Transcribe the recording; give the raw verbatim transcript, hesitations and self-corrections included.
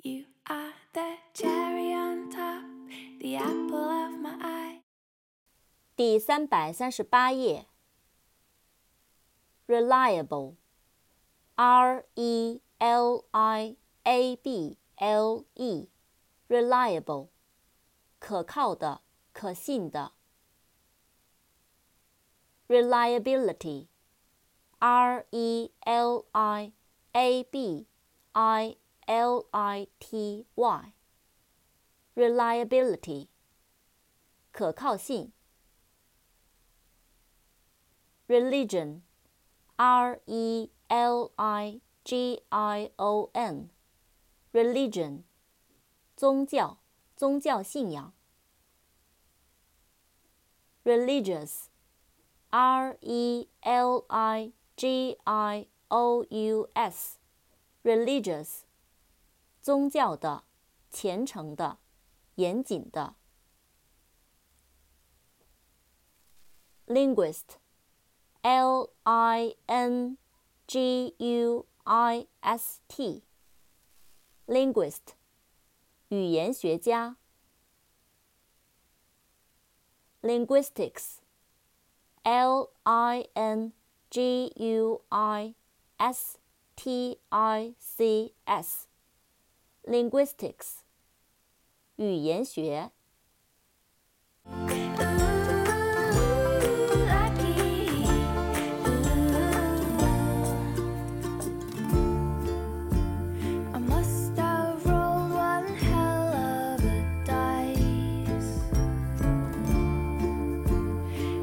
You are the cherry on top, the apple of my eye. 第三百三十八页。Reliable, R E L I A B L E, reliable, 可靠的，可信的。Reliability, R E L I A B I L I T Y, reliability, 可靠性。Religion, R E L I G I O N, religion, 宗教，宗教信仰。Religious, R E L I G I O U S, religious, 宗教的，虔诚的，严谨的。Linguist, L I N G U I S T, linguist, 语言学家。Linguistics, L I N G U I S T I C S, linguistics, 语言学。